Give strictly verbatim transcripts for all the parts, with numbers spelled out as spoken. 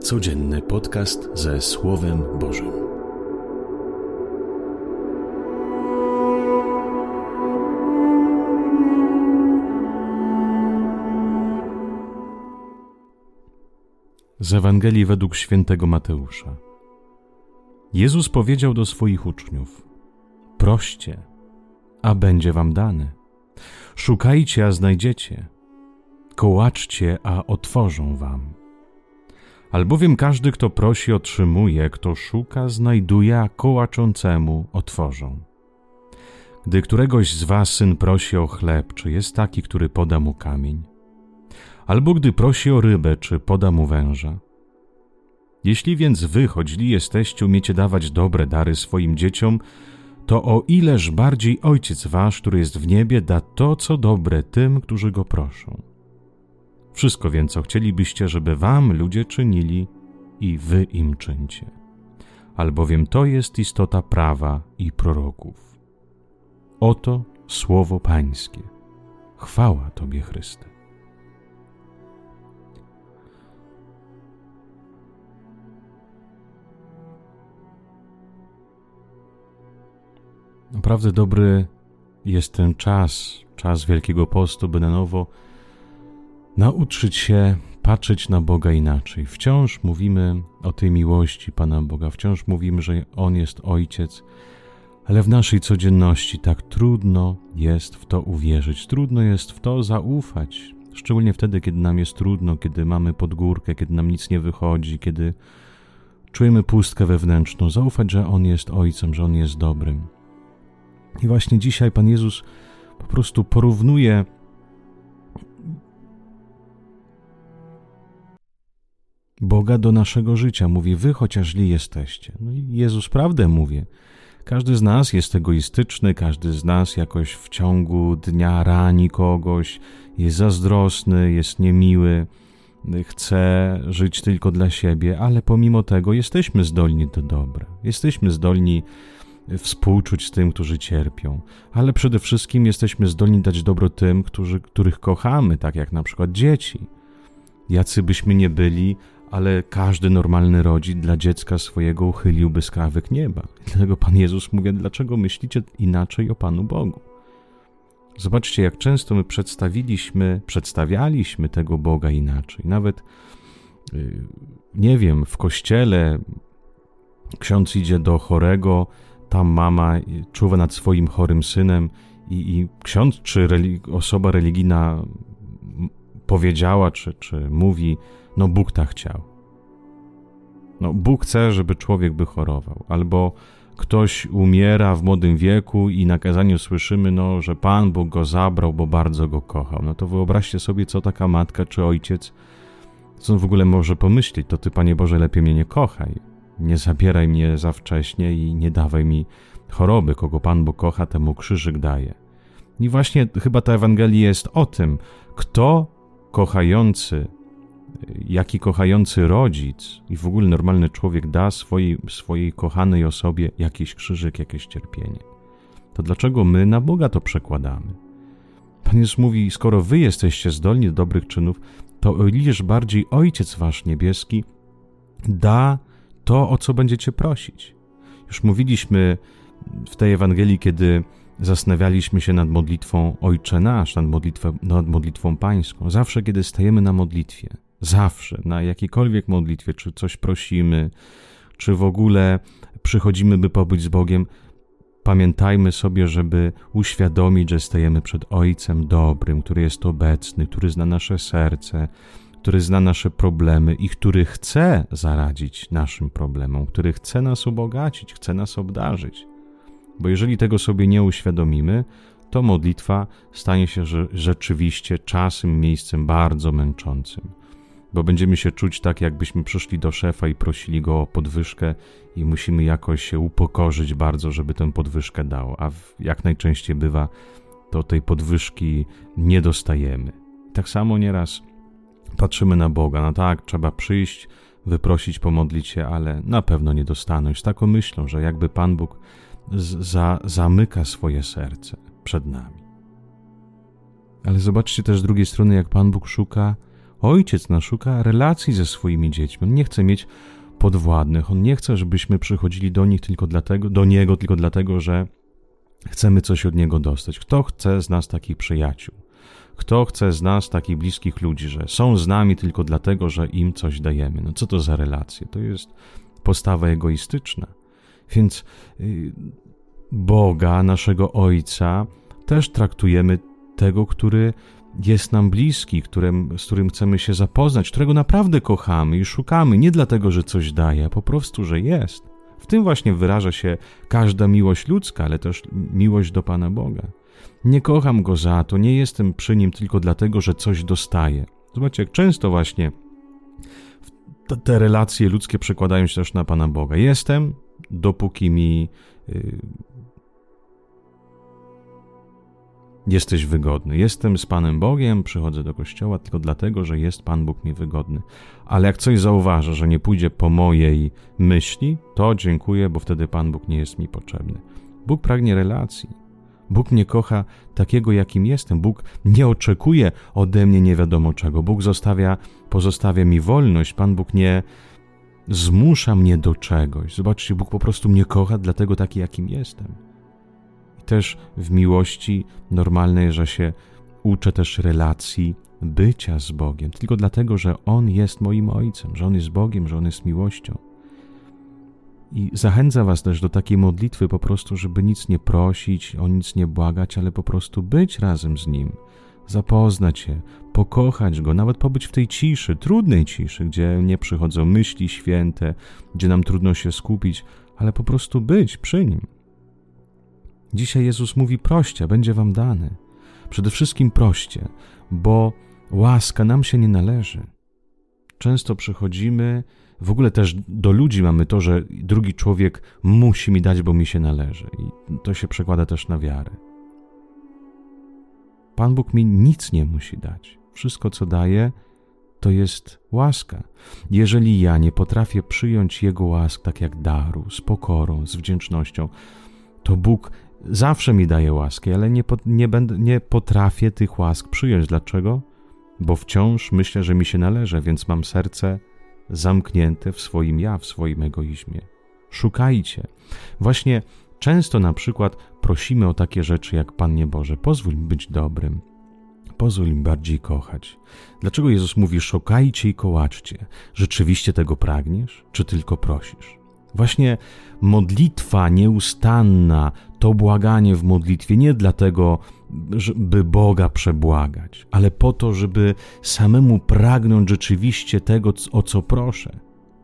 Codzienny podcast ze Słowem Bożym. Z Ewangelii według świętego Mateusza. Jezus powiedział do swoich uczniów: proście, a będzie wam dane. Szukajcie, a znajdziecie. Kołaczcie, a otworzą wam. Albowiem każdy, kto prosi, otrzymuje, kto szuka, znajduje, a kołaczącemu otworzą. Gdy któregoś z was syn prosi o chleb, czy jest taki, który poda mu kamień? Albo gdy prosi o rybę, czy poda mu węża? Jeśli więc wy, choć źli jesteście, umiecie dawać dobre dary swoim dzieciom, to o ileż bardziej Ojciec wasz, który jest w niebie, da to, co dobre tym, którzy go proszą. Wszystko więc, co chcielibyście, żeby wam ludzie czynili, i wy im czyńcie. Albowiem to jest istota prawa i proroków. Oto słowo Pańskie. Chwała Tobie, Chryste. Naprawdę dobry jest ten czas, czas Wielkiego Postu, by na nowo nauczyć się patrzeć na Boga inaczej. Wciąż mówimy o tej miłości Pana Boga, wciąż mówimy, że On jest Ojciec, ale w naszej codzienności tak trudno jest w to uwierzyć, trudno jest w to zaufać, szczególnie wtedy, kiedy nam jest trudno, kiedy mamy podgórkę, kiedy nam nic nie wychodzi, kiedy czujemy pustkę wewnętrzną, zaufać, że On jest Ojcem, że On jest dobrym. I właśnie dzisiaj Pan Jezus po prostu porównuje Boga do naszego życia. Mówi, wy chociaż źli jesteście. No i Jezus prawdę mówi. Każdy z nas jest egoistyczny, każdy z nas jakoś w ciągu dnia rani kogoś, jest zazdrosny, jest niemiły, chce żyć tylko dla siebie, ale pomimo tego jesteśmy zdolni do dobra. Jesteśmy zdolni współczuć z tym, którzy cierpią, ale przede wszystkim jesteśmy zdolni dać dobro tym, którzy, których kochamy, tak jak na przykład dzieci. Jacy byśmy nie byli, ale każdy normalny rodzic dla dziecka swojego uchyliłby skrawek nieba. Dlatego Pan Jezus mówi, dlaczego myślicie inaczej o Panu Bogu? Zobaczcie, jak często my przedstawiliśmy, przedstawialiśmy tego Boga inaczej. Nawet, nie wiem, w kościele ksiądz idzie do chorego, tam mama czuwa nad swoim chorym synem i, i ksiądz czy religi- osoba religijna powiedziała, czy, czy mówi, no Bóg tak chciał. No Bóg chce, żeby człowiek by chorował. Albo ktoś umiera w młodym wieku i na kazaniu słyszymy, no, że Pan Bóg go zabrał, bo bardzo go kochał. No to wyobraźcie sobie, co taka matka czy ojciec, co on w ogóle może pomyśleć. To Ty, Panie Boże, lepiej mnie nie kochaj. Nie zabieraj mnie za wcześnie i nie dawaj mi choroby. Kogo Pan Bóg kocha, temu krzyżyk daje. I właśnie chyba ta Ewangelia jest o tym, kto kochający, jaki kochający rodzic i w ogóle normalny człowiek da swojej, swojej kochanej osobie jakiś krzyżyk, jakieś cierpienie. To dlaczego my na Boga to przekładamy? Pan Jezus mówi, skoro wy jesteście zdolni do dobrych czynów, to o ileż bardziej Ojciec wasz niebieski da to, o co będziecie prosić. Już mówiliśmy w tej Ewangelii, kiedy zastanawialiśmy się nad modlitwą Ojcze Nasz, nad, modlitwą, nad modlitwą Pańską. Zawsze, kiedy stajemy na modlitwie, zawsze, na jakiejkolwiek modlitwie, czy coś prosimy, czy w ogóle przychodzimy, by pobyć z Bogiem, pamiętajmy sobie, żeby uświadomić, że stajemy przed Ojcem dobrym, który jest obecny, który zna nasze serce, który zna nasze problemy i który chce zaradzić naszym problemom, który chce nas ubogacić, chce nas obdarzyć. Bo jeżeli tego sobie nie uświadomimy, to modlitwa stanie się rzeczywiście czasem, miejscem bardzo męczącym. Bo będziemy się czuć tak, jakbyśmy przyszli do szefa i prosili go o podwyżkę i musimy jakoś się upokorzyć bardzo, żeby tę podwyżkę dał. A jak najczęściej bywa, to tej podwyżki nie dostajemy. Tak samo nieraz patrzymy na Boga. No tak, trzeba przyjść, wyprosić, pomodlić się, ale na pewno nie dostanę. Z taką myślą, że jakby Pan Bóg z- za- zamyka swoje serce przed nami. Ale zobaczcie też z drugiej strony, jak Pan Bóg szuka Ojciec nasz szuka relacji ze swoimi dziećmi. On nie chce mieć podwładnych. On nie chce, żebyśmy przychodzili do nich tylko dlatego, do Niego tylko dlatego, że chcemy coś od Niego dostać. Kto chce z nas takich przyjaciół? Kto chce z nas takich bliskich ludzi, że są z nami tylko dlatego, że im coś dajemy? No co to za relacje? To jest postawa egoistyczna. Więc yy, Boga, naszego Ojca, też traktujemy tego, który jest nam bliski, którym, z którym chcemy się zapoznać, którego naprawdę kochamy i szukamy, nie dlatego, że coś daje, a po prostu, że jest. W tym właśnie wyraża się każda miłość ludzka, ale też miłość do Pana Boga. Nie kocham Go za to, nie jestem przy Nim tylko dlatego, że coś dostaję. Zobaczcie, jak często właśnie te relacje ludzkie przekładają się też na Pana Boga. Jestem, dopóki mi yy, jesteś wygodny. Jestem z Panem Bogiem, przychodzę do kościoła tylko dlatego, że jest Pan Bóg mi wygodny. Ale jak coś zauważę, że nie pójdzie po mojej myśli, to dziękuję, bo wtedy Pan Bóg nie jest mi potrzebny. Bóg pragnie relacji. Bóg mnie kocha takiego, jakim jestem. Bóg nie oczekuje ode mnie nie wiadomo czego. Bóg zostawia, pozostawia mi wolność. Pan Bóg nie zmusza mnie do czegoś. Zobaczcie, Bóg po prostu mnie kocha dlatego taki, jakim jestem. I też w miłości normalnej, że się uczę też relacji bycia z Bogiem. Tylko dlatego, że On jest moim Ojcem, że On jest Bogiem, że On jest miłością. I zachęcam was też do takiej modlitwy po prostu, żeby nic nie prosić, o nic nie błagać, ale po prostu być razem z Nim, zapoznać się, pokochać Go, nawet pobyć w tej ciszy, trudnej ciszy, gdzie nie przychodzą myśli święte, gdzie nam trudno się skupić, ale po prostu być przy Nim. Dzisiaj Jezus mówi: proście, będzie wam dane. Przede wszystkim proście, bo łaska nam się nie należy. Często przychodzimy, w ogóle też do ludzi mamy to, że drugi człowiek musi mi dać, bo mi się należy. I to się przekłada też na wiarę. Pan Bóg mi nic nie musi dać. Wszystko, co daje, to jest łaska. Jeżeli ja nie potrafię przyjąć Jego łask tak jak daru, z pokorą, z wdzięcznością, to Bóg zawsze mi daje łaski, ale nie, nie, będę, nie potrafię tych łask przyjąć. Dlaczego? Bo wciąż myślę, że mi się należy, więc mam serce zamknięte w swoim ja, w swoim egoizmie. Szukajcie. Właśnie często na przykład prosimy o takie rzeczy jak: Panie Boże, pozwól mi być dobrym, pozwól mi bardziej kochać. Dlaczego Jezus mówi: szukajcie i kołaczcie? Rzeczywiście tego pragniesz, czy tylko prosisz? Właśnie modlitwa nieustanna, to błaganie w modlitwie nie dlatego, żeby Boga przebłagać, ale po to, żeby samemu pragnąć rzeczywiście tego, o co proszę.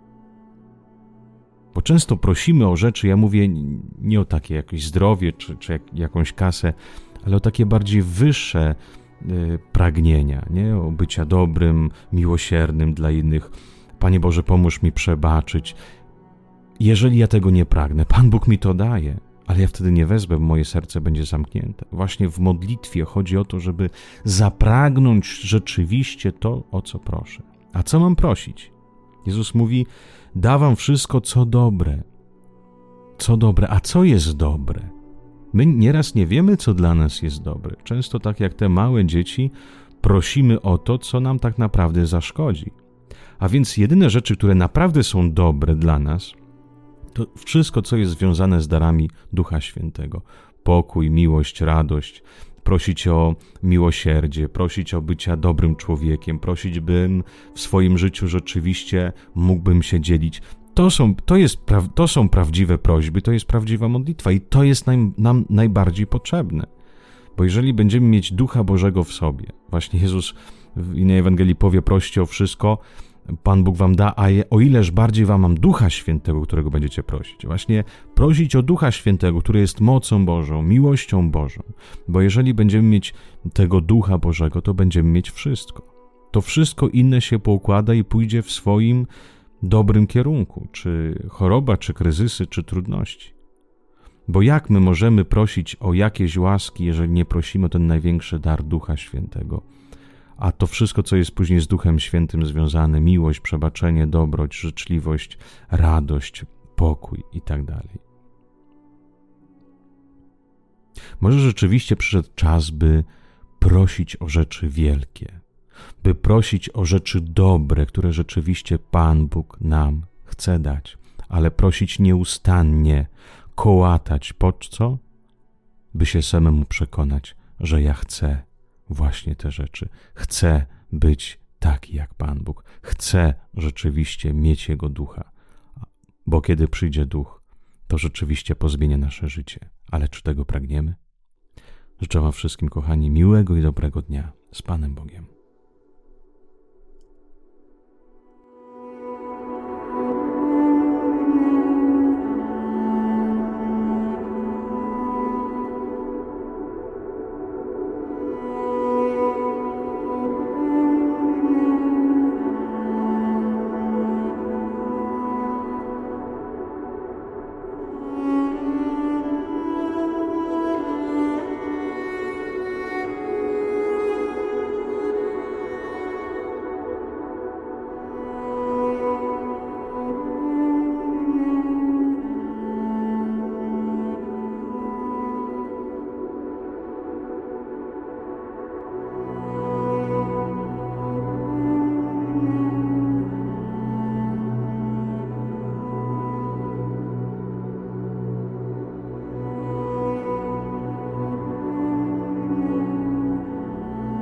Bo często prosimy o rzeczy, ja mówię nie o takie jakieś zdrowie czy, czy jak, jakąś kasę, ale o takie bardziej wyższe y, pragnienia, nie? O bycia dobrym, miłosiernym dla innych. Panie Boże, pomóż mi przebaczyć. Jeżeli ja tego nie pragnę, Pan Bóg mi to daje, ale ja wtedy nie wezmę, bo moje serce będzie zamknięte. Właśnie w modlitwie chodzi o to, żeby zapragnąć rzeczywiście to, o co proszę. A co mam prosić? Jezus mówi: da wam wszystko, co dobre. Co dobre? A co jest dobre? My nieraz nie wiemy, co dla nas jest dobre. Często tak jak te małe dzieci prosimy o to, co nam tak naprawdę zaszkodzi. A więc jedyne rzeczy, które naprawdę są dobre dla nas, to wszystko, co jest związane z darami Ducha Świętego. Pokój, miłość, radość. Prosić o miłosierdzie, prosić o bycia dobrym człowiekiem, prosić, bym w swoim życiu rzeczywiście mógłbym się dzielić. To są, to jest, to są prawdziwe prośby, to jest prawdziwa modlitwa i to jest nam, nam najbardziej potrzebne. Bo jeżeli będziemy mieć Ducha Bożego w sobie, właśnie Jezus w innej Ewangelii powie: proście o wszystko, Pan Bóg wam da, a o ileż bardziej wam mam Ducha Świętego, którego będziecie prosić. Właśnie prosić o Ducha Świętego, który jest mocą Bożą, miłością Bożą. Bo jeżeli będziemy mieć tego Ducha Bożego, to będziemy mieć wszystko. To wszystko inne się poukłada i pójdzie w swoim dobrym kierunku. Czy choroba, czy kryzysy, czy trudności. Bo jak my możemy prosić o jakieś łaski, jeżeli nie prosimy o ten największy dar Ducha Świętego? A to wszystko, co jest później z Duchem Świętym związane, miłość, przebaczenie, dobroć, życzliwość, radość, pokój i tak dalej. Może rzeczywiście przyszedł czas, by prosić o rzeczy wielkie. by prosić o rzeczy dobre, które rzeczywiście Pan Bóg nam chce dać, ale prosić nieustannie, kołatać. Po co? By się samemu przekonać, że ja chcę właśnie te rzeczy. Chcę być taki jak Pan Bóg. Chcę rzeczywiście mieć Jego ducha. Bo kiedy przyjdzie duch, to rzeczywiście pozmienia nasze życie. Ale czy tego pragniemy? Życzę wam wszystkim, kochani, miłego i dobrego dnia z Panem Bogiem.